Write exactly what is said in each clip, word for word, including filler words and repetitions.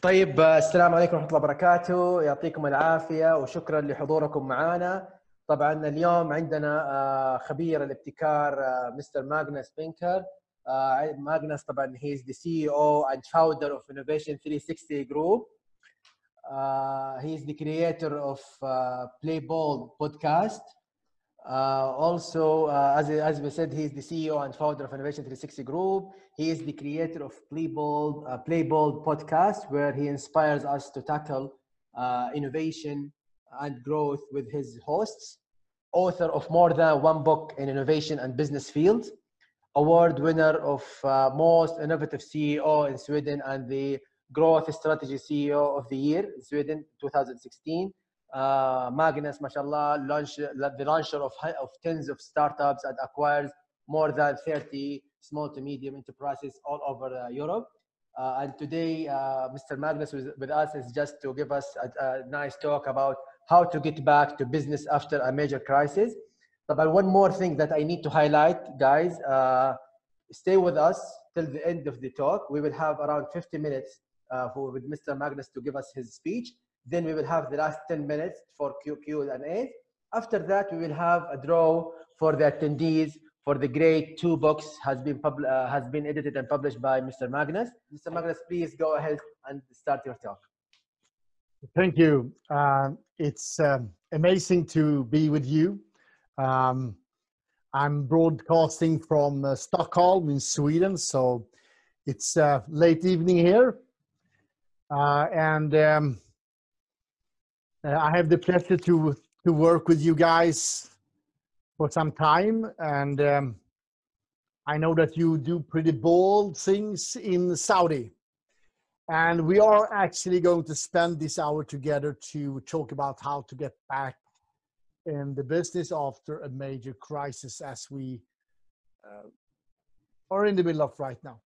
طيب السلام عليكم ورحمة الله وبركاته، يعطيكم العافية وشكرا لحضوركم معنا. طبعا اليوم عندنا خبير الابتكار مستر ماغنس بينكر. ماغنس طبعا he is the C E O and founder of Innovation three sixty Group. Uh, he is the creator of uh, Play Bold podcast. Uh, also, uh, as, as we said, he is the C E O and founder of Innovation three sixty Group. He is the creator of Play Bold, uh, Play Bold podcast, where he inspires us to tackle uh, innovation and growth with his hosts. Author of more than one book in innovation and business fields. Award winner of uh, most innovative C E O in Sweden and the growth strategy C E O of the year in Sweden twenty sixteen. Uh, Magnus, mashallah, launch, the launcher of, of tens of startups and acquires more than thirty small to medium enterprises all over uh, Europe. Uh, and today, uh, Mister Magnus with, with us is just to give us a, a nice talk about how to get back to business after a major crisis. But one more thing that I need to highlight, guys, uh, stay with us till the end of the talk. We will have around fifty minutes uh, for, with Mister Magnus to give us his speech. Then we will have the last ten minutes for Q and A. After that, we will have a draw for the attendees for the great two books has been pub uh, has been edited and published by Mister Magnus. Mister Magnus, please go ahead and start your talk. Thank you. Uh, it's um, amazing to be with you. Um, I'm broadcasting from uh, Stockholm in Sweden, so it's uh, late evening here. Uh, and um, I have the pleasure to, to work with you guys for some time. And um, I know that you do pretty bold things in Saudi. And we are actually going to spend this hour together to talk about how to get back in the business after a major crisis as we uh, are in the middle of right now.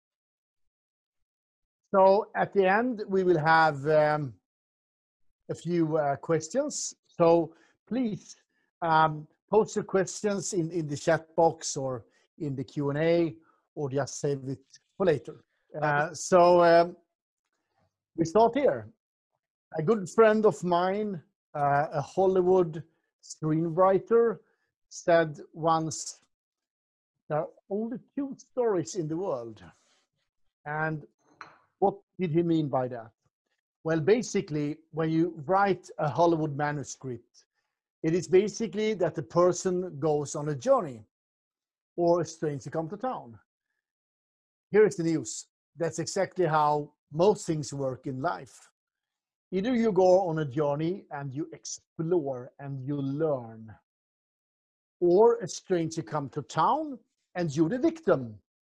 So at the end, we will have um, a few uh, questions. So please um, post your questions in, in the chat box or in the Q and A, or just save it for later. Uh, so um, we start here. A good friend of mine, uh, a Hollywood screenwriter, said once, there are only two stories in the world. And what did he mean by that? Well, basically, when you write a Hollywood manuscript, it is basically that the person goes on a journey or a stranger comes to town. Here is the news. That's exactly how most things work in life. Either you go on a journey and you explore and you learn, or a stranger comes to town and you're the victim.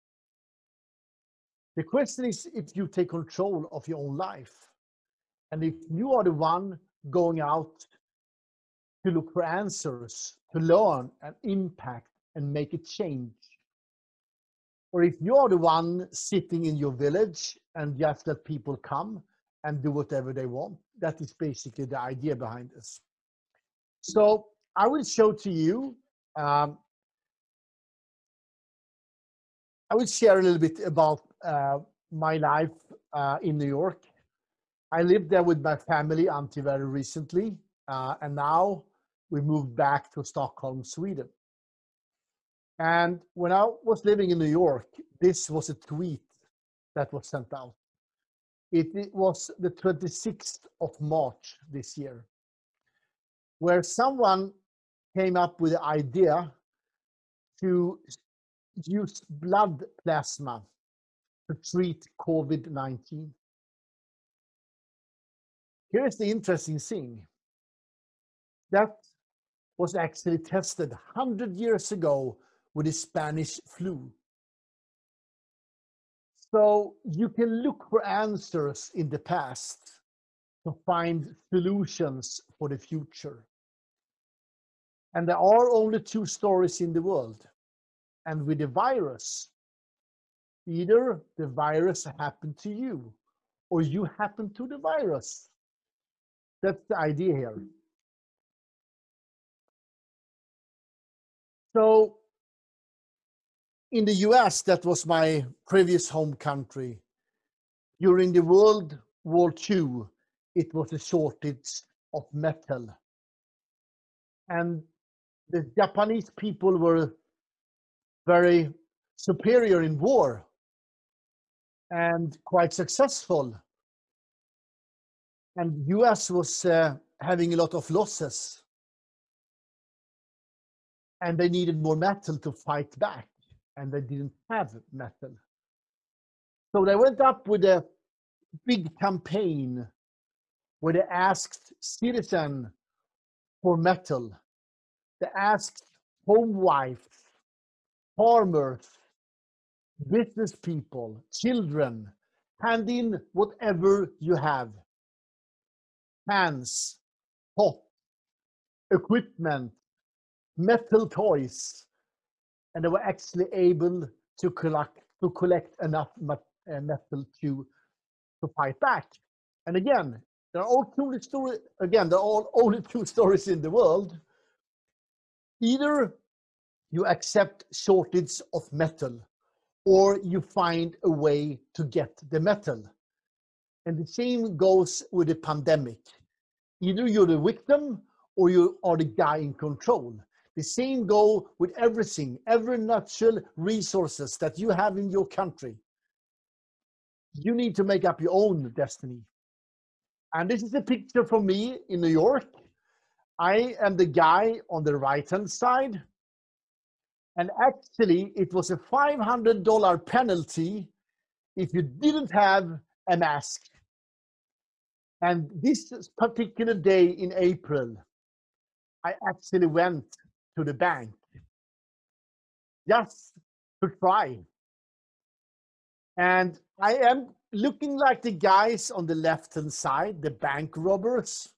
The question is if you take control of your own life, and if you are the one going out to look for answers, to learn and impact and make a change. Or if you are the one sitting in your village and just let people come and do whatever they want. That is basically the idea behind this. So I will show to you, um, I will share a little bit about uh, my life uh, in New York. I lived there with my family until very recently, uh, and now we moved back to Stockholm, Sweden. And when I was living in New York, this was a tweet that was sent out. It, it was the twenty-sixth of March this year, where someone came up with the idea to use blood plasma to treat COVID nineteen. Here's the interesting thing. That was actually tested one hundred years ago with the Spanish flu. So you can look for answers in the past to find solutions for the future. And there are only two stories in the world. And with the virus, either the virus happened to you or you happened to the virus. That's the idea here. So in the U S, that was my previous home country. During the World War Two, it was a shortage of metal. And the Japanese people were very superior in war and quite successful. And U S was uh, having a lot of losses. And they needed more metal to fight back. And they didn't have metal. So they went up with a big campaign where they asked citizens for metal. They asked home wives, farmers, business people, children, hand in whatever you have. Hands, pot, equipment, metal toys. And they were actually able to collect, to collect enough metal to, to fight back. And again, there are all two stories, again, there are all only two stories in the world. Either you accept shortage of metal, or you find a way to get the metal. And the same goes with the pandemic. Either you're the victim or you are the guy in control. The same goes with everything, every natural resources that you have in your country. You need to make up your own destiny. And this is a picture from me in New York. I am the guy on the right-hand side. And actually, it was a five hundred dollar penalty if you didn't have a mask. And this particular day in April, I actually went to the bank just to try. And I am looking like the guys on the left-hand side, the bank robbers.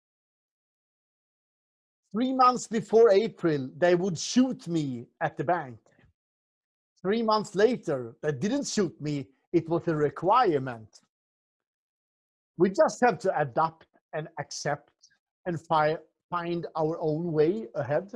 Three months before April, they would shoot me at the bank. Three months later, they didn't shoot me. It was a requirement. We just have to adapt and accept and fi- find our own way ahead.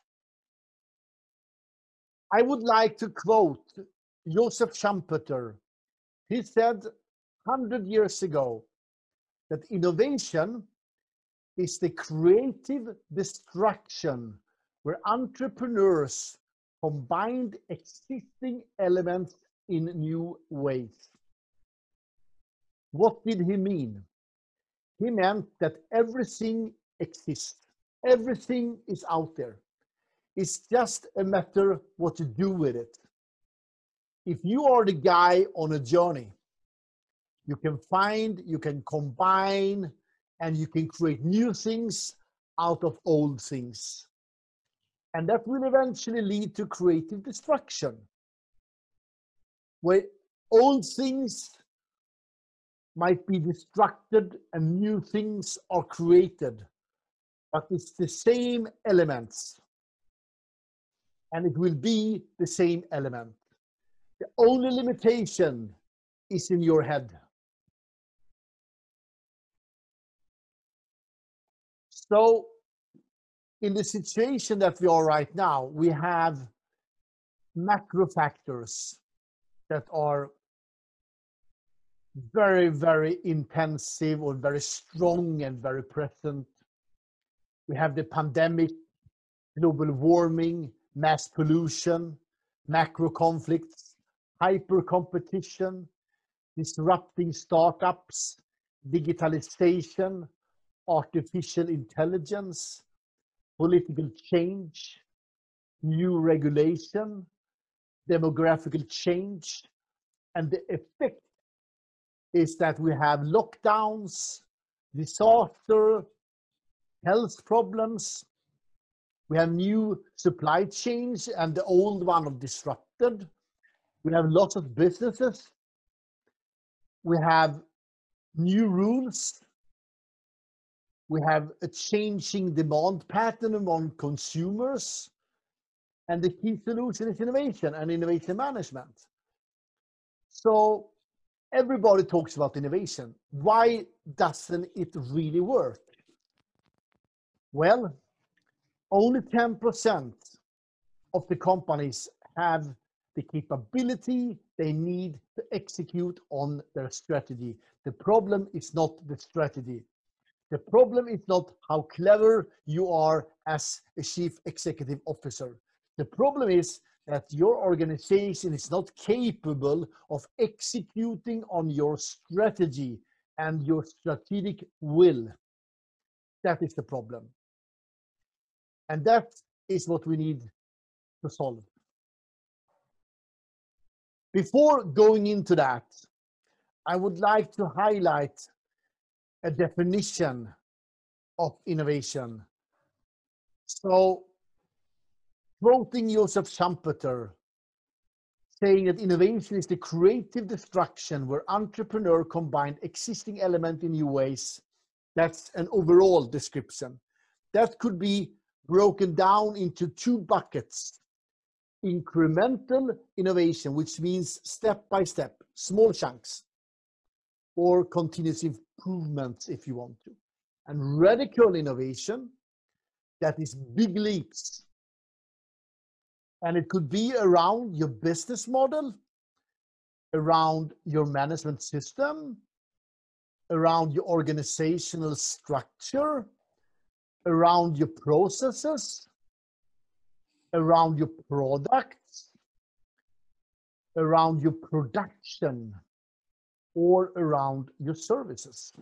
I would like to quote Joseph Schumpeter. He said one hundred years ago that innovation is the creative destruction where entrepreneurs combined existing elements in new ways. What did he mean? He meant that everything exists. Everything is out there. It's just a matter what to do with it. If you are the guy on a journey, you can find, you can combine, and you can create new things out of old things. And that will eventually lead to creative destruction, where old things might be destructed and new things are created. But it's the same elements. And it will be the same element. The only limitation is in your head. So, in the situation that we are right now, we have macro factors that are very, very intensive or very strong and very present. We have the pandemic, global warming, mass pollution, macro conflicts, hyper competition, disrupting startups, digitalization, artificial intelligence, political change, new regulation, demographical change, and the effect is that we have lockdowns, disaster, health problems. We have new supply chains and the old one are disrupted. We have lots of businesses. We have new rules. We have a changing demand pattern among consumers. And the key solution is innovation and innovation management. So everybody talks about innovation. Why doesn't it really work? Well, only ten percent of the companies have the capability they need to execute on their strategy. The problem is not the strategy. The problem is not how clever you are as a chief executive officer. The problem is that your organization is not capable of executing on your strategy and your strategic will. That is the problem. And that is what we need to solve. Before going into that, I would like to highlight a definition of innovation. So, quoting Joseph Schumpeter, saying that innovation is the creative destruction where entrepreneur combine existing element in new ways. That's an overall description. That could be broken down into two buckets. Incremental innovation, which means step by step, small chunks, or continuous improvements if you want to. And radical innovation, that is big leaps. And it could be around your business model, around your management system, around your organizational structure, around your processes, around your products, around your production, or around your services.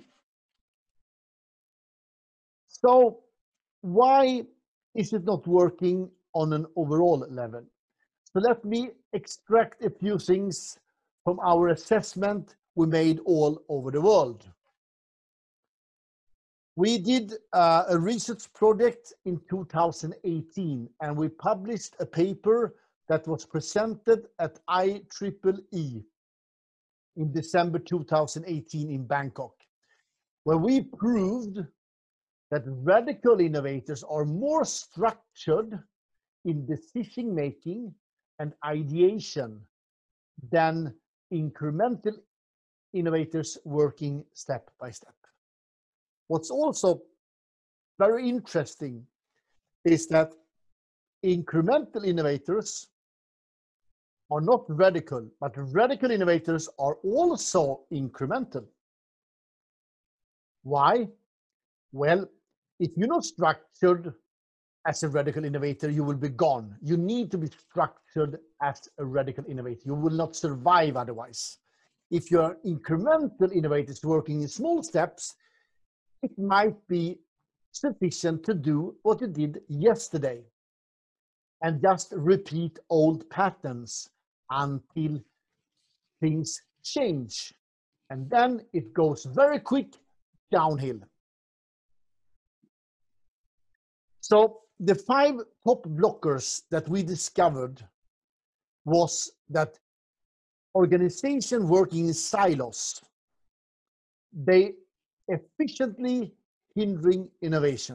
So why is it not working on an overall level? So let me extract a few things from our assessment we made all over the world. We did uh, a research project in two thousand eighteen, and we published a paper that was presented at I triple E in December two thousand eighteen in Bangkok, where we proved that radical innovators are more structured in decision making and ideation than incremental innovators working step by step. What's also very interesting is that incremental innovators are not radical, but radical innovators are also incremental. Why? Well, if you're not structured as a radical innovator, you will be gone. You need to be structured as a radical innovator. You will not survive otherwise. If you're incremental innovators working in small steps, it might be sufficient to do what you did yesterday and just repeat old patterns until things change. And then it goes very quick downhill. So the five top blockers that we discovered was that organization working in silos, they efficiently hindering innovation.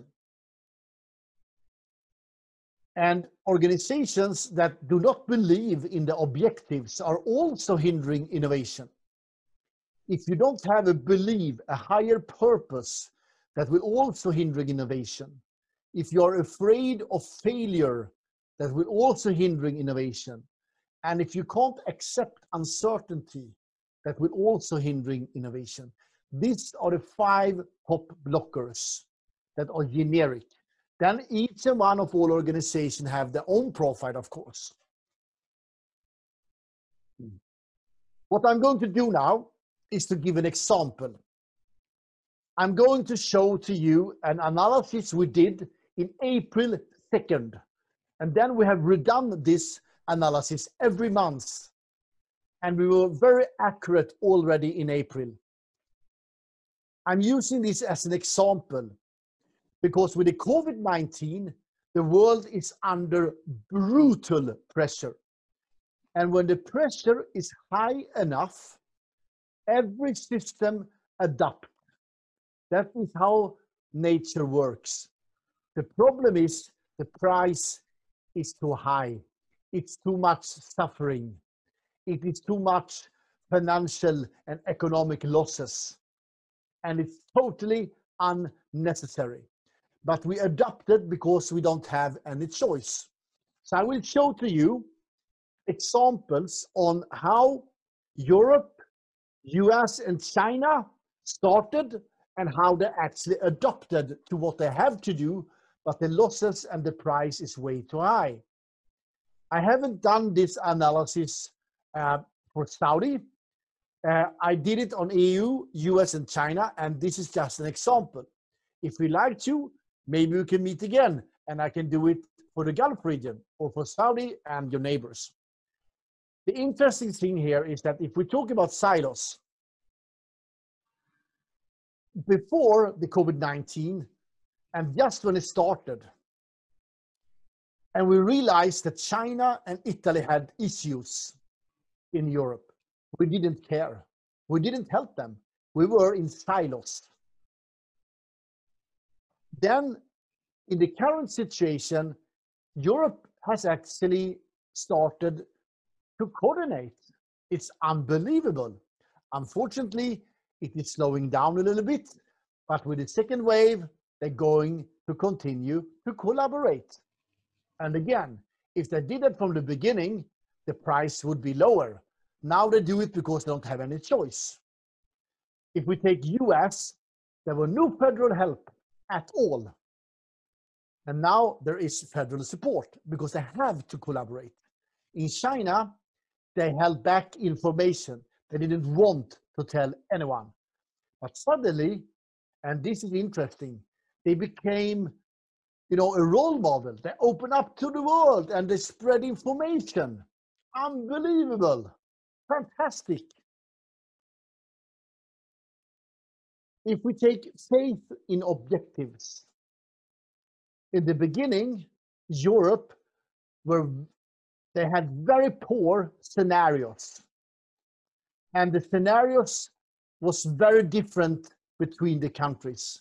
And organizations that do not believe in the objectives are also hindering innovation. If you don't have a belief, a higher purpose, that will also hinder innovation. If you're afraid of failure, that will also hinder innovation. And if you can't accept uncertainty, that will also hinder innovation. These are the five top blockers that are generic. Then each and one of all organizations have their own profile, of course. What I'm going to do now is to give an example. I'm going to show to you an analysis we did in April second. And then we have redone this analysis every month. And we were very accurate already in April. I'm using this as an example because with the COVID nineteen, the world is under brutal pressure. And when the pressure is high enough, every system adapts. That is how nature works. The problem is the price is too high. It's too much suffering. It is too much financial and economic losses. And it's totally unnecessary. But we adapted because we don't have any choice. So I will show to you examples on how Europe, U S, and China started and how they actually adopted to what they have to do, but the losses and the price is way too high. I haven't done this analysis uh, for Saudi. Uh, I did it on E U, U S, and China, and this is just an example. If we like to, maybe we can meet again, and I can do it for the Gulf region or for Saudi and your neighbors. The interesting thing here is that if we talk about silos, before the COVID nineteen, and just when it started, and we realized that China and Italy had issues in Europe, we didn't care. We didn't help them. We were in silos. Then, in the current situation, Europe has actually started to coordinate. It's unbelievable. Unfortunately, it is slowing down a little bit, but with the second wave, they're going to continue to collaborate. And again, if they did it from the beginning, the price would be lower. Now they do it because they don't have any choice. If we take U S, there were no federal help at all. And now there is federal support because they have to collaborate. In China, they held back information. They didn't want to tell anyone. But suddenly, and this is interesting, they became, you know, a role model. They open up to the world and they spread information. Unbelievable. Fantastic. If we take faith in objectives, in the beginning, Europe were, they had very poor scenarios. And the scenarios was very different between the countries.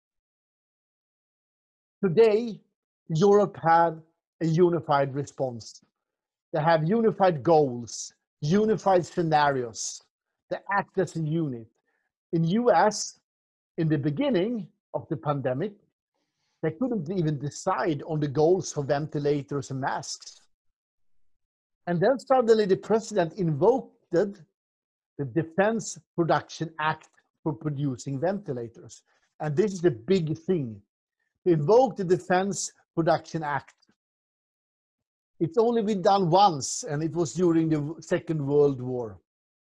Today, Europe had a unified response. They have unified goals, unified scenarios. They act as a unit. In U S, in the beginning of the pandemic, they couldn't even decide on the goals for ventilators and masks. And then suddenly the president invoked the Defense Production Act for producing ventilators. And this is the big thing. To invoke the Defense Production Act. It's only been done once, and it was during the Second World War.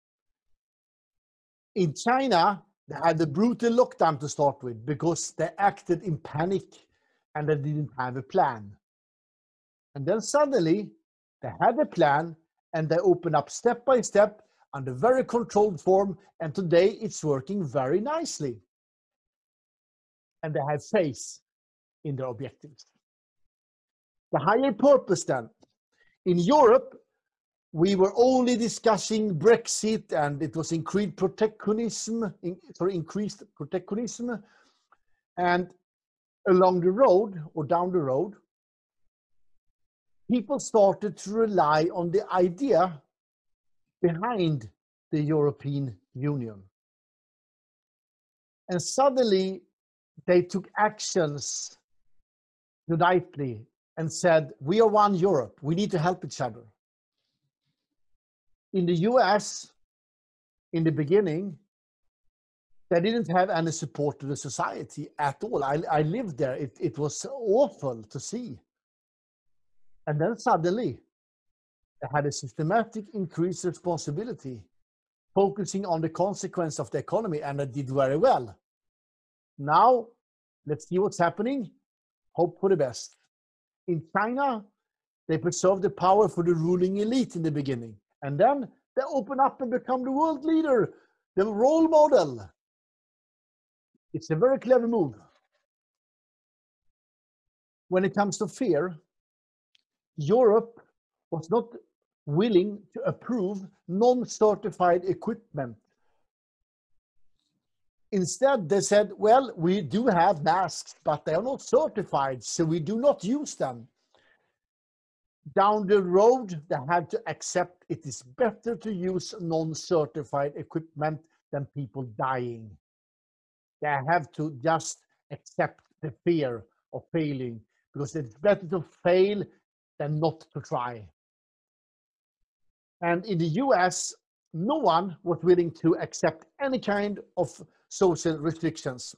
In China, they had a brutal lockdown to start with because they acted in panic and they didn't have a plan. And then suddenly, they had a plan and they opened up step by step under very controlled form, and today it's working very nicely. And they have faith in their objectives. The higher purpose then. In Europe, we were only discussing Brexit and it was increased protectionism, in, sorry, increased protectionism. And along the road or down the road, people started to rely on the idea behind the European Union. And suddenly they took actions unitedly and said, we are one Europe, we need to help each other. In the U S, in the beginning, they didn't have any support to the society at all. I, I lived there, it, it was awful to see. And then suddenly, they had a systematic increased responsibility, focusing on the consequence of the economy, and they did very well. Now, let's see what's happening. Hope for the best. In China, they preserved the power for the ruling elite in the beginning. And then they open up and become the world leader, the role model. It's a very clever move. When it comes to fear, Europe was not willing to approve non-certified equipment. Instead, they said, well, we do have masks, but they are not certified, so we do not use them. Down the road, they had to accept it is better to use non-certified equipment than people dying. They have to just accept the fear of failing, because it's better to fail than not to try. And in the U S, no one was willing to accept any kind of social restrictions.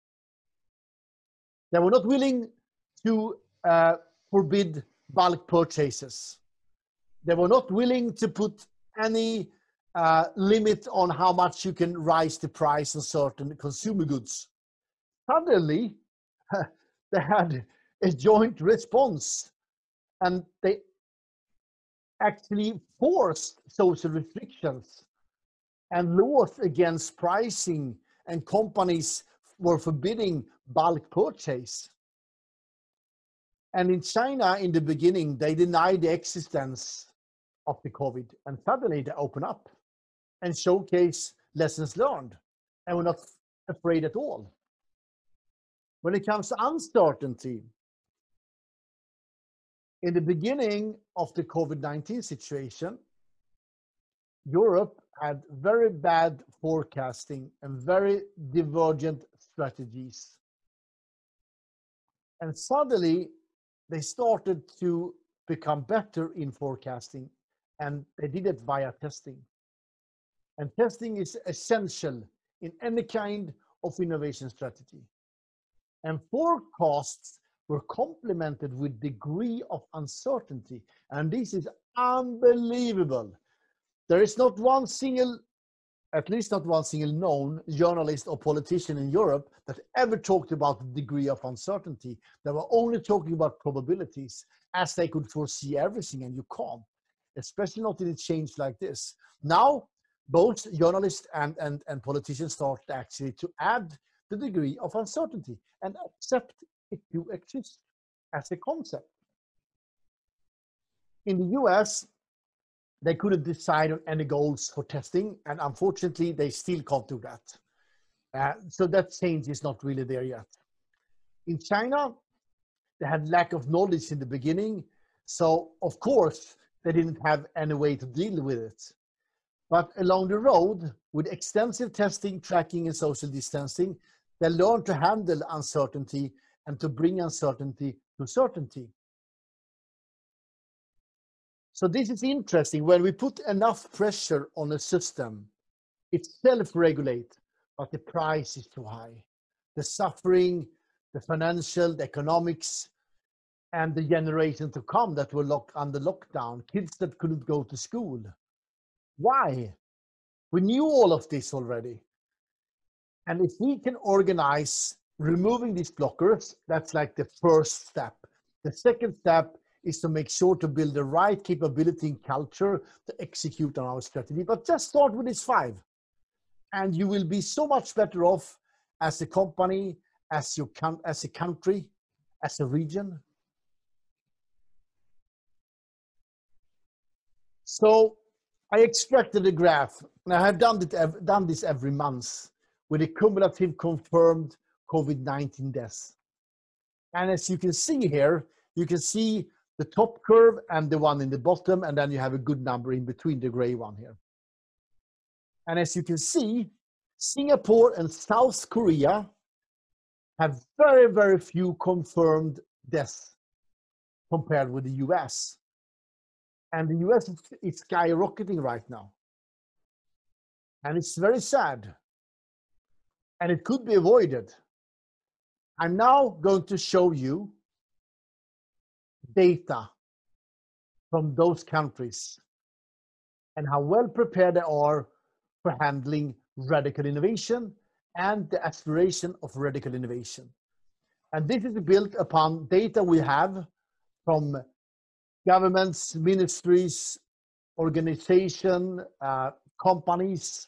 They were not willing to uh, forbid bulk purchases. They were not willing to put any uh, limit on how much you can raise the price on certain consumer goods. Suddenly, they had a joint response, and they actually forced social restrictions and laws against pricing, and companies were forbidding bulk purchase. And in China, in the beginning, they denied the existence of the COVID, and suddenly they open up and showcase lessons learned, and we're not afraid at all. When it comes to uncertainty, in the beginning of the COVID nineteen situation, Europe had very bad forecasting and very divergent strategies. And suddenly, they started to become better in forecasting, and they did it via testing. And testing is essential in any kind of innovation strategy. And forecasts were complemented with degree of uncertainty. And this is unbelievable. There is not one single, at least not one single known journalist or politician in Europe that ever talked about the degree of uncertainty. They were only talking about probabilities, as they could foresee everything, and you can't, especially not in a change like this. Now, both journalists and, and, and politicians start actually to add the degree of uncertainty and accept it to exist as a concept. In the U S, they couldn't decide on any goals for testing, and unfortunately, they still can't do that. Uh, so that change is not really there yet. In China, they had lack of knowledge in the beginning, so of course, they didn't have any way to deal with it. But along the road, with extensive testing, tracking, and social distancing, they learned to handle uncertainty and to bring uncertainty to certainty. So this is interesting. When we put enough pressure on a system, it self-regulates, but the price is too high. The suffering, the financial, the economics, and the generation to come that were locked under lockdown, kids that couldn't go to school. Why? We knew all of this already. And if we can organize removing these blockers, that's like the first step. The second step is to make sure to build the right capability and culture to execute on our strategy. But just start with these five. And you will be so much better off as a company, as, your, as a country, as a region. So I extracted a graph, and I have done, it, done this every month with a cumulative confirmed COVID nineteen deaths. And as you can see here, you can see the top curve and the one in the bottom, and then you have a good number in between, the gray one here. And as you can see, Singapore and South Korea have very, very few confirmed deaths compared with the U S. And the U S is skyrocketing right now. And it's very sad. And it could be avoided. I'm now going to show you data from those countries and how well prepared they are for handling radical innovation and the aspiration of radical innovation. And this is built upon data we have from governments, ministries, organizations, uh, companies,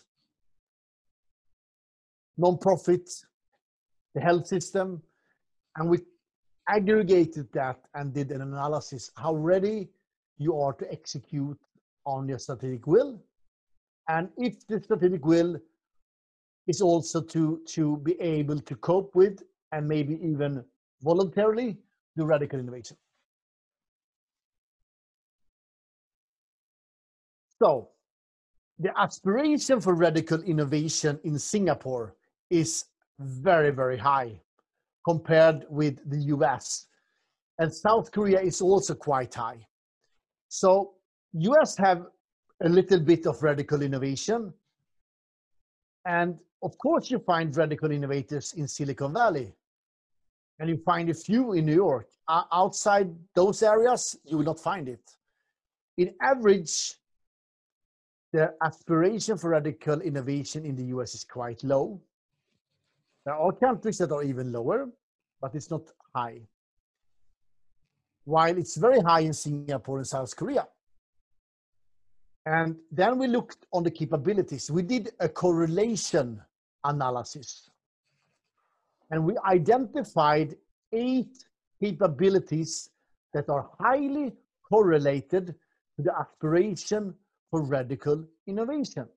non-profit, the health system, and we aggregated that and did an analysis how ready you are to execute on your strategic will, and if the strategic will is also to, to be able to cope with and maybe even voluntarily do radical innovation. So the aspiration for radical innovation in Singapore is very, very high compared with the U S. And South Korea is also quite high. So U S have a little bit of radical innovation. And of course, you find radical innovators in Silicon Valley. And you find a few in New York. Uh, outside those areas, you will not find it. In average, the aspiration for radical innovation in the U S is quite low. There are countries that are even lower, but it's not high. While it's very high in Singapore and South Korea. And then we looked on the capabilities. We did a correlation analysis. And we identified eight capabilities that are highly correlated to the aspiration for radical innovation.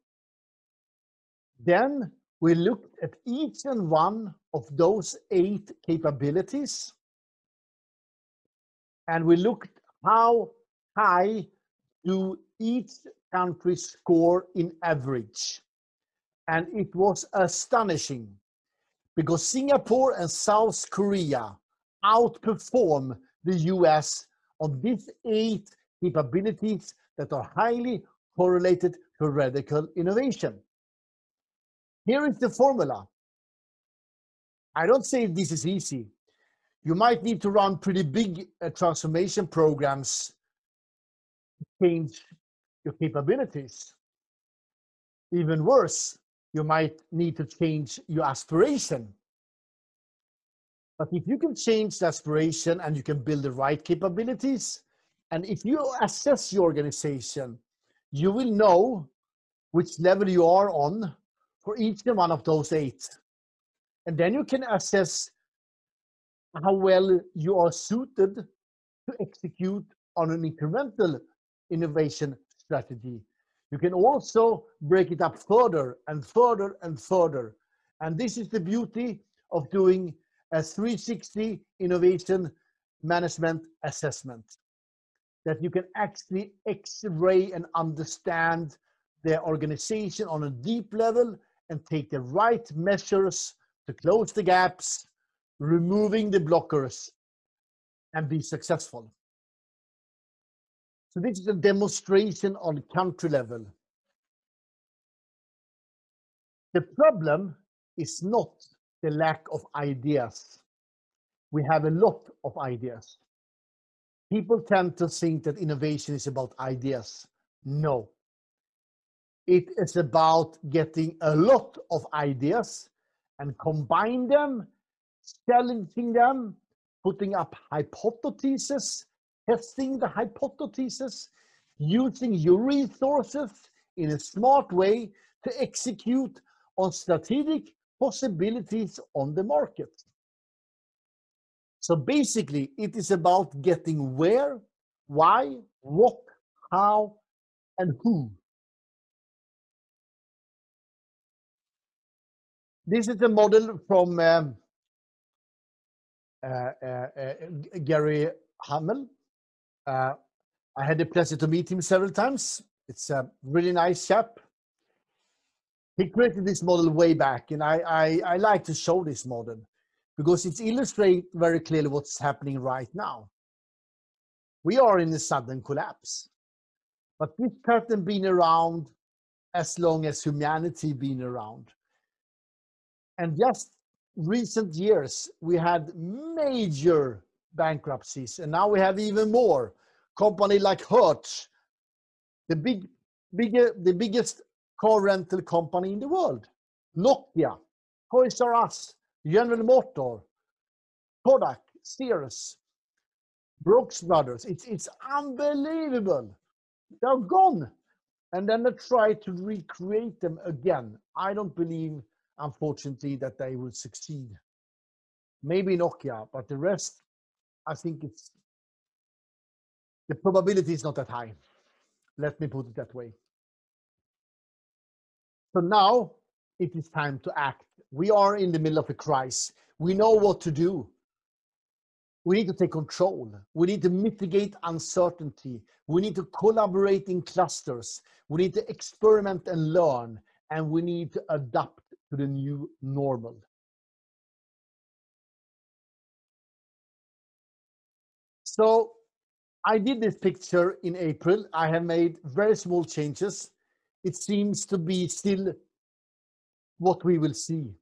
Then we looked at each and one of those eight capabilities. And we looked how high do each country score in average. And it was astonishing because Singapore and South Korea outperform the U S on these eight capabilities that are highly correlated to radical innovation. Here is the formula. I don't say this is easy. You might need to run pretty big uh, transformation programs to change your capabilities. Even worse, you might need to change your aspiration. But if you can change the aspiration and you can build the right capabilities, and if you assess your organization, you will know which level you are on for each one of those eight. And then you can assess how well you are suited to execute on an incremental innovation strategy. You can also break it up further and further and further. And this is the beauty of doing a three sixty innovation management assessment, that you can actually X-ray and understand the organization on a deep level and take the right measures to close the gaps, removing the blockers, and be successful. So this is a demonstration on country level. The problem is not the lack of ideas. We have a lot of ideas. People tend to think that innovation is about ideas. No. It is about getting a lot of ideas and combine them, challenging them, putting up hypotheses, testing the hypotheses, using your resources in a smart way to execute on strategic possibilities on the market. So basically, it is about getting where, why, what, how, and who. This is a model from um, uh, uh, uh, Gary Hamel. Uh, I had the pleasure to meet him several times. It's a really nice chap. He created this model way back, and I, I, I like to show this model because it illustrates very clearly what's happening right now. We are in a sudden collapse, but this pattern been around as long as humanity been around. And just recent years, we had major bankruptcies, and now we have even more. Company like Hertz, the big, bigger, the biggest car rental company in the world. Nokia, Toys R Us, General Motors, Kodak, Sears, Brooks Brothers. It's, it's unbelievable. They're gone. And then they try to recreate them again. I don't believe, unfortunately, that they will succeed. Maybe Nokia, but the rest, I think it's, the probability is not that high. Let me put it that way. So now it is time to act. We are in the middle of a crisis. We know what to do. We need to take control. We need to mitigate uncertainty. We need to collaborate in clusters. We need to experiment and learn. And we need to adapt to the new normal. So I did this picture in April. I have made very small changes. It seems to be still what we will see.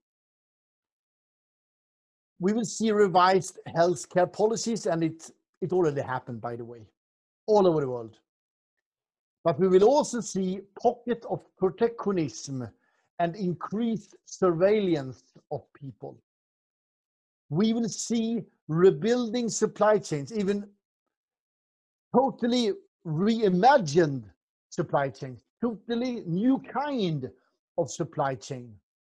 We will see revised healthcare policies, and it, it already happened, by the way, all over the world. But we will also see pocket of protectionism and increased surveillance of people. We will see rebuilding supply chains, even totally reimagined supply chains, totally new kind of supply chain.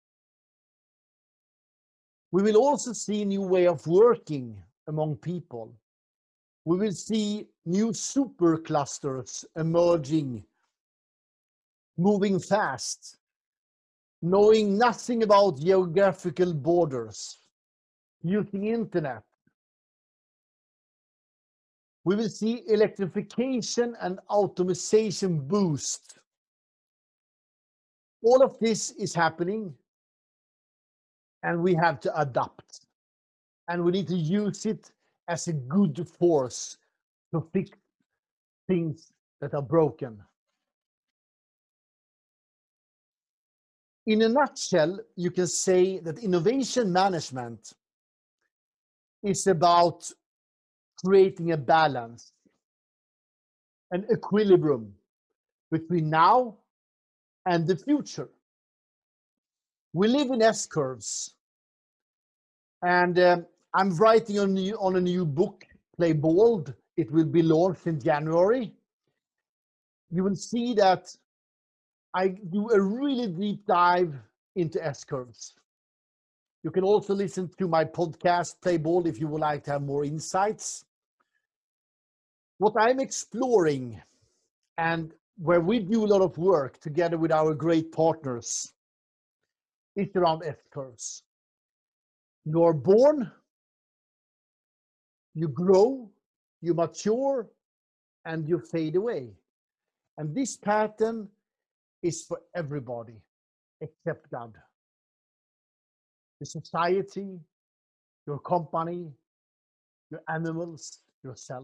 We will also see new way of working among people. We will see new super clusters emerging, moving fast, knowing nothing about geographical borders, using internet. We will see electrification and automation boost. All of this is happening, and we have to adapt. And we need to use it as a good force to fix things that are broken. In a nutshell, you can say that innovation management is about creating a balance, an equilibrium between now and the future. We live in S-curves, and um, I'm writing on, new, on a new book, Play Bold. It will be launched in January. You will see that I do a really deep dive into S-curves. You can also listen to my podcast, Play Bold, if you would like to have more insights. What I'm exploring, and where we do a lot of work together with our great partners, is around S-curves. You're born, you grow, you mature, and you fade away. And this pattern is for everybody except God. The society, your company, your animals, yourself.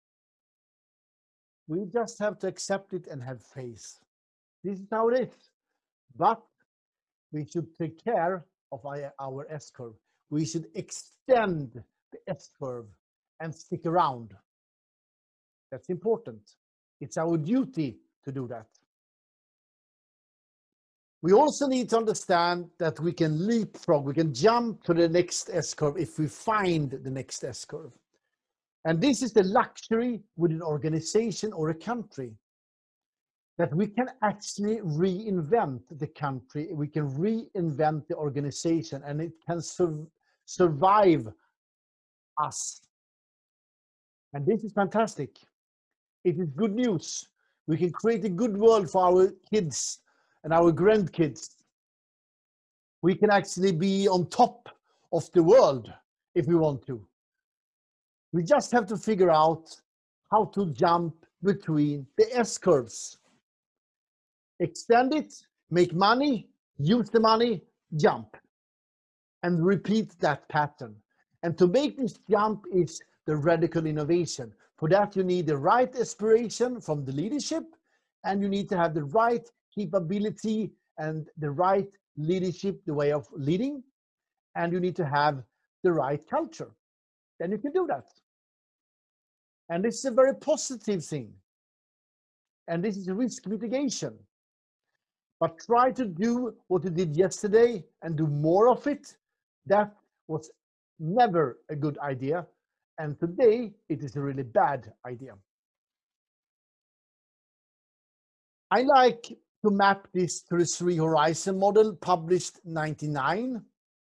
We just have to accept it and have faith. This is how it is. But we should take care of our, our S-curve. We should extend the S-curve and stick around. That's important. It's our duty to do that. We also need to understand that we can leapfrog, we can jump to the next S-curve if we find the next S-curve. And this is the luxury with an organization or a country, that we can actually reinvent the country, we can reinvent the organization, and it can sur- survive us. And this is fantastic. It is good news. We can create a good world for our kids and our grandkids. We can actually be on top of the world if we want to. We just have to figure out how to jump between the S-curves. Extend it, make money, use the money, jump. And repeat that pattern. And to make this jump is the radical innovation. For that, you need the right aspiration from the leadership, and you need to have the right capability and the right leadership, the way of leading, and you need to have the right culture. Then you can do that. And this is a very positive thing. And this is risk mitigation. But try to do what you did yesterday and do more of it. That was never a good idea. And today it is a really bad idea. I like to map this to the three horizon model published in ninety-nine.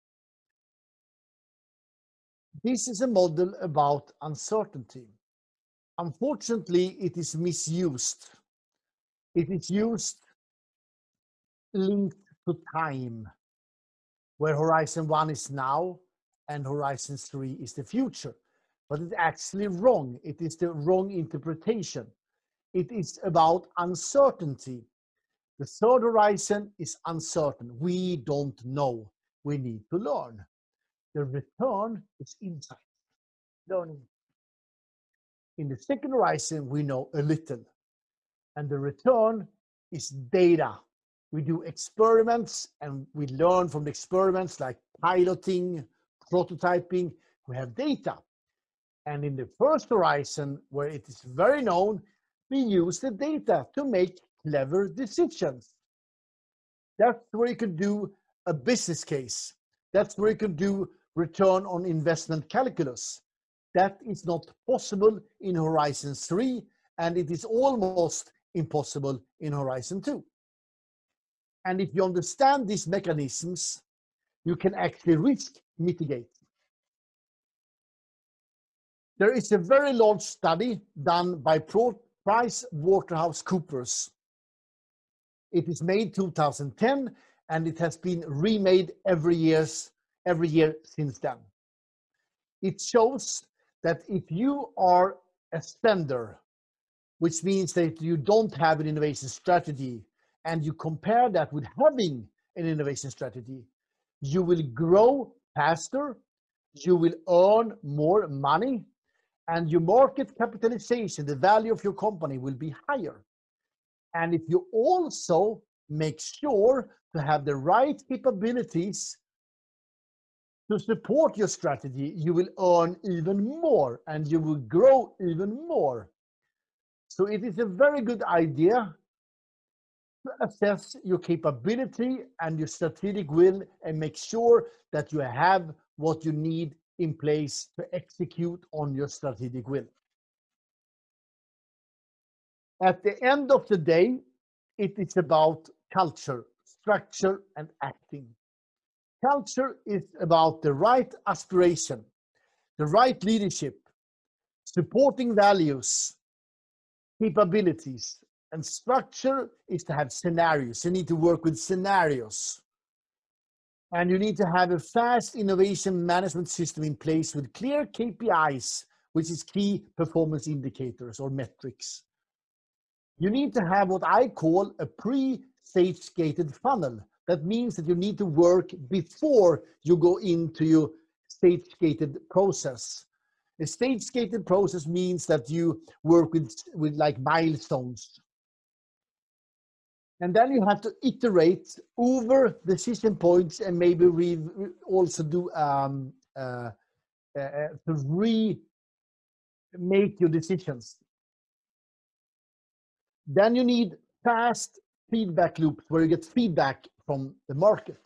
This is a model about uncertainty. Unfortunately, it is misused. It is used linked to time, where horizon one is now and horizon three is the future. But it's actually wrong. It is the wrong interpretation. It is about uncertainty. The third horizon is uncertain. We don't know. We need to learn. The return is insight, learning. In the second horizon, we know a little. And the return is data. We do experiments and we learn from the experiments like piloting, prototyping. We have data. And in the first horizon, where it is very known, we use the data to make clever decisions. That's where you can do a business case. That's where you can do return on investment calculus. That is not possible in Horizon three, and it is almost impossible in Horizon two. And if you understand these mechanisms, you can actually risk mitigate. There is a very large study done by PricewaterhouseCoopers. It is made two thousand ten, and it has been remade every years, every year since then. It shows that if you are a spender, which means that you don't have an innovation strategy, and you compare that with having an innovation strategy, you will grow faster, you will earn more money, and your market capitalization, the value of your company, will be higher. And if you also make sure to have the right capabilities to support your strategy, you will earn even more and you will grow even more. So it is a very good idea to assess your capability and your strategic will and make sure that you have what you need in place to execute on your strategic will. At the end of the day, it is about culture, structure, and acting. Culture is about the right aspiration, the right leadership, supporting values, capabilities, and structure is to have scenarios. You need to work with scenarios. And you need to have a fast innovation management system in place with clear K P Is, which is key performance indicators or metrics. You need to have what I call a pre-stage gated funnel. That means that you need to work before you go into your stage gated process. A stage gated process means that you work with, with like milestones. And then you have to iterate over decision points and maybe re also do um, uh, uh, to re make your decisions. Then you need fast feedback loops where you get feedback from the market.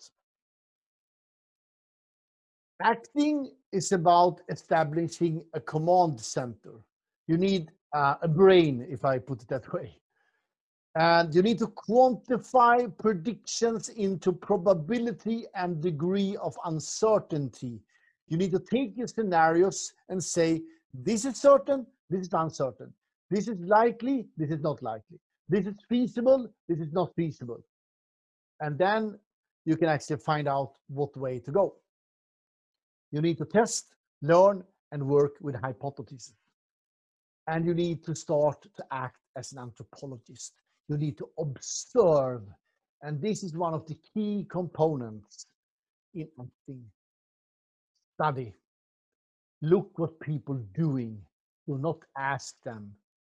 Acting is about establishing a command center. You need uh, a brain, if I put it that way. And you need to quantify predictions into probability and degree of uncertainty. You need to take your scenarios and say, this is certain, this is uncertain. This is likely, this is not likely. This is feasible, this is not feasible. And then you can actually find out what way to go. You need to test, learn, and work with hypotheses. And you need to start to act as an anthropologist. You need to observe. And this is one of the key components in acting. Study. Look what people are doing. Do not ask them.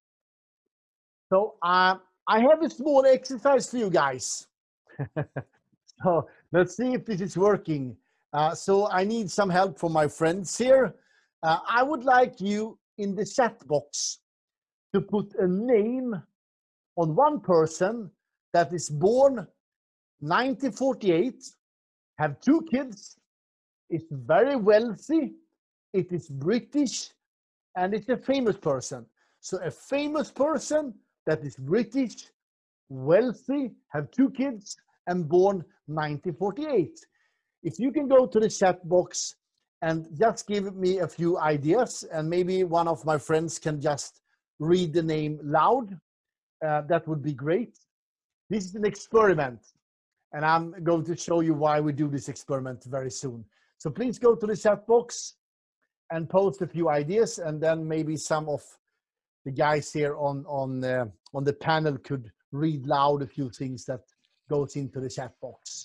So uh, I have a small exercise for you guys. So let's see if this is working. Uh, so I need some help from my friends here. Uh, I would like you in the chat box to put a name on one person that is born nineteen forty-eight, have two kids, is very wealthy, it is British, and it's a famous person. So a famous person that is British, wealthy, have two kids, and born nineteen forty-eight. If you can go to the chat box and just give me a few ideas, and maybe one of my friends can just read the name loud, uh, that would be great. This is an experiment, and I'm going to show you why we do this experiment very soon. So please go to the chat box and post a few ideas, and then maybe some of the guys here on, on, uh, on the panel could read loud a few things that goes into the chat box.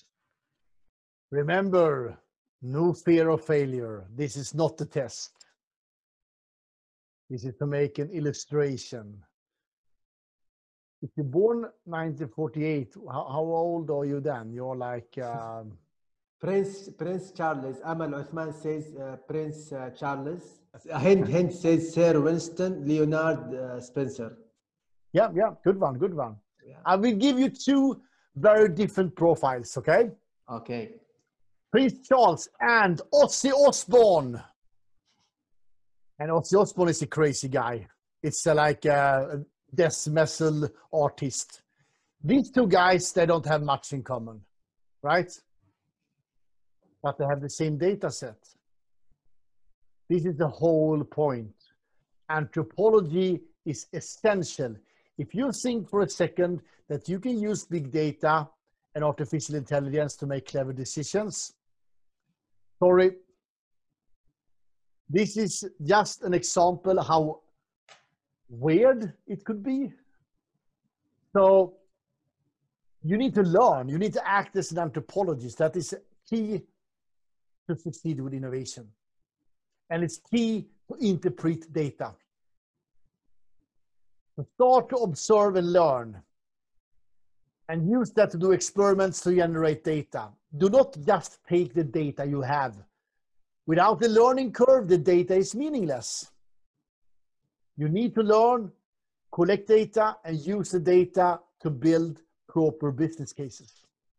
Remember, no fear of failure. This is not the test. This is to make an illustration. If you're born nineteen forty-eight, how, how old are you then? You're like... Um, Prince Prince Charles. Amal Uthman says uh, Prince uh, Charles. Hind Hind says Sir Winston Leonard uh, Spencer. Yeah, yeah, good one, good one. Yeah. I will give you two very different profiles, okay? Okay. Prince Charles and Ozzy Osbourne. And Ozzy Osbourne is a crazy guy. It's uh, like a death metal artist. These two guys, they don't have much in common, right? But they have the same data set. This is the whole point. Anthropology is essential. If you think for a second that you can use big data and artificial intelligence to make clever decisions, sorry, this is just an example how weird it could be. So you need to learn, you need to act as an anthropologist. That is key to succeed with innovation. And it's key to interpret data. So start to observe and learn. And use that to do experiments to generate data. Do not just take the data you have. Without the learning curve, the data is meaningless. You need to learn, collect data, and use the data to build proper business cases.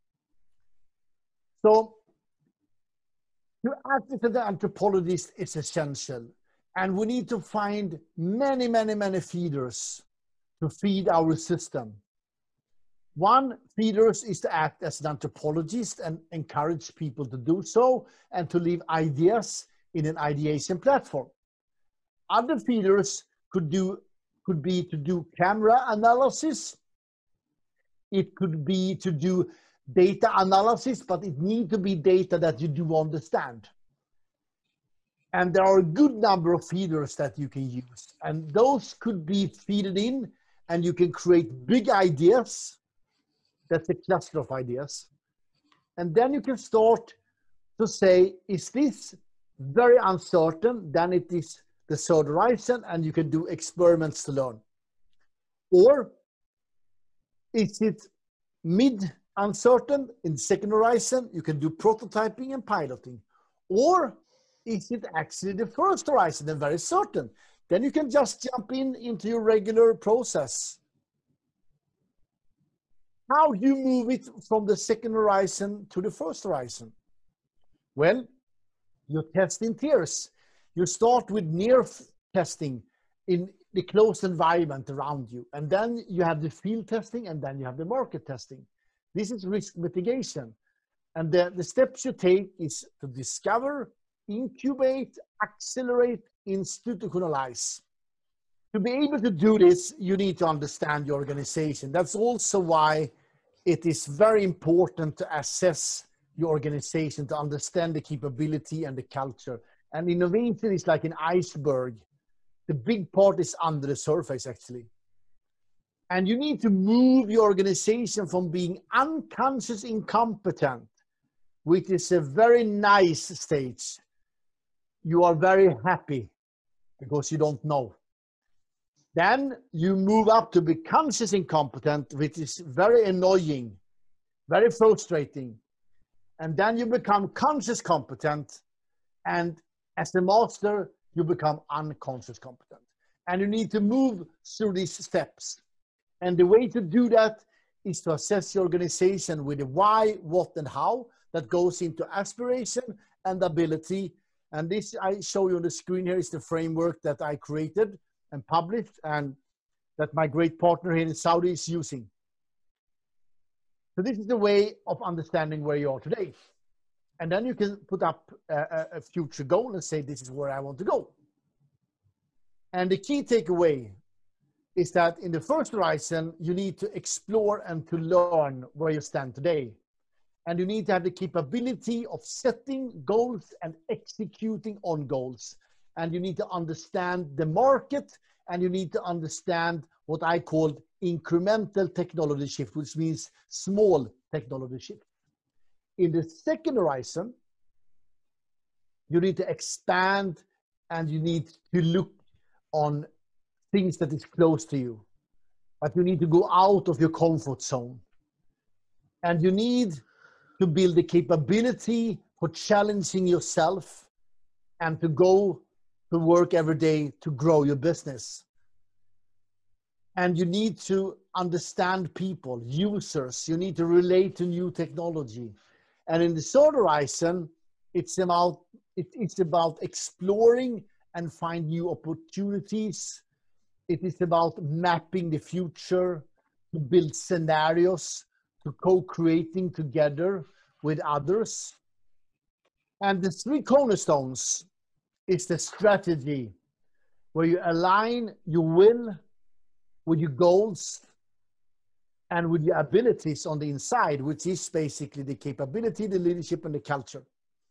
So, to act as an anthropologist is essential. And we need to find many, many, many feeders to feed our system. One feeder is to act as an anthropologist and encourage people to do so and to leave ideas in an ideation platform. Other feeders could do could be to do camera analysis. It could be to do data analysis, but it needs to be data that you do understand. And there are a good number of feeders that you can use. And those could be feeded in, and you can create big ideas. That's a cluster of ideas. And then you can start to say, is this very uncertain? Then it is the third horizon, and you can do experiments to learn. Or is it mid uncertain in the second horizon? You can do prototyping and piloting. Or is it actually the first horizon and very certain? Then you can just jump in into your regular process. How do you move it from the second horizon to the first horizon? Well, you test in tiers. You start with near testing in the closed environment around you. And then you have the field testing, and then you have the market testing. This is risk mitigation. And the, the steps you take is to discover, incubate, accelerate, institutionalize. To be able to do this, you need to understand your organization. That's also why it is very important to assess your organization, to understand the capability and the culture. And innovation is like an iceberg. The big part is under the surface, actually. And you need to move your organization from being unconscious incompetent, which is a very nice stage. You are very happy because you don't know. Then you move up to be conscious incompetent, which is very annoying, very frustrating. And then you become conscious competent, and as a master, you become unconscious competent. And you need to move through these steps. And the way to do that is to assess your organization with the why, what, and how that goes into aspiration and ability. And this I show you on the screen here is the framework that I created and published, and that my great partner here in Saudi is using. So this is the way of understanding where you are today. And then you can put up a, a future goal and say, this is where I want to go. And the key takeaway is that in the first horizon, you need to explore and to learn where you stand today. And you need to have the capability of setting goals and executing on goals. And you need to understand the market, and you need to understand what I call incremental technology shift, which means small technology shift. In the second horizon, you need to expand, and you need to look on things that is close to you, but you need to go out of your comfort zone. And you need to build the capability for challenging yourself and to go to work every day to grow your business. And you need to understand people, users. You need to relate to new technology. And in the third horizon, it's about, it, it's about exploring and find new opportunities. It is about mapping the future, to build scenarios, to co-creating together with others. And the three cornerstones is the strategy, where you align your will with your goals and with your abilities on the inside, which is basically the capability, the leadership, and the culture.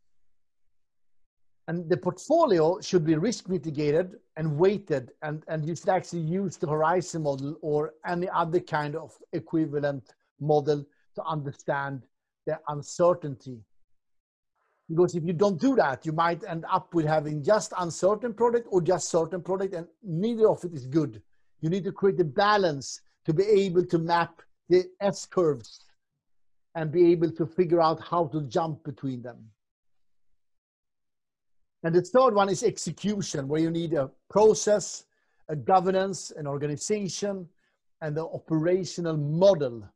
And the portfolio should be risk mitigated and weighted, and, and you should actually use the Horizon model or any other kind of equivalent model to understand the uncertainty. Because if you don't do that, you might end up with having just uncertain product or just certain product, and neither of it is good. You need to create a balance to be able to map the S-curves and be able to figure out how to jump between them. And the third one is execution, where you need a process, a governance, an organization, and the operational model.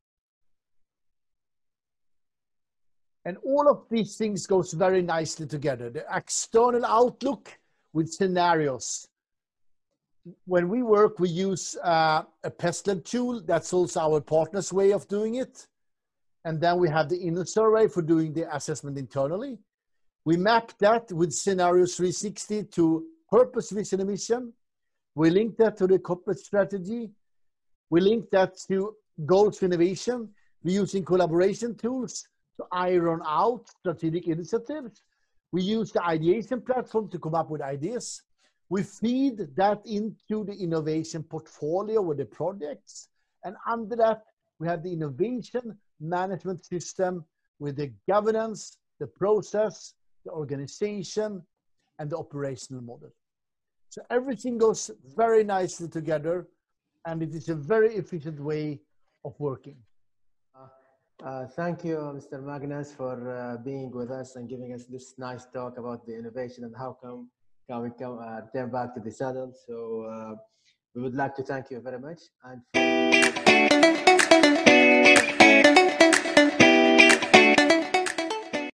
And all of these things goes very nicely together. The external outlook with scenarios. When we work, we use uh, a PestLab tool. That's also our partner's way of doing it. And then we have the inner survey for doing the assessment internally. We map that with Scenarios three sixty to purpose, vision, and mission. We link that to the corporate strategy. We link that to goals for innovation. We're using collaboration tools to iron out strategic initiatives. We use the ideation platform to come up with ideas. We feed that into the innovation portfolio with the projects. And under that, we have the innovation management system with the governance, the process, the organization, and the operational model. So everything goes very nicely together, and it is a very efficient way of working. Uh, uh, thank you, Mister Magnus, for uh, being with us and giving us this nice talk about the innovation and how come can we come uh, return back to the saddle. So uh, we would like to thank you very much. And for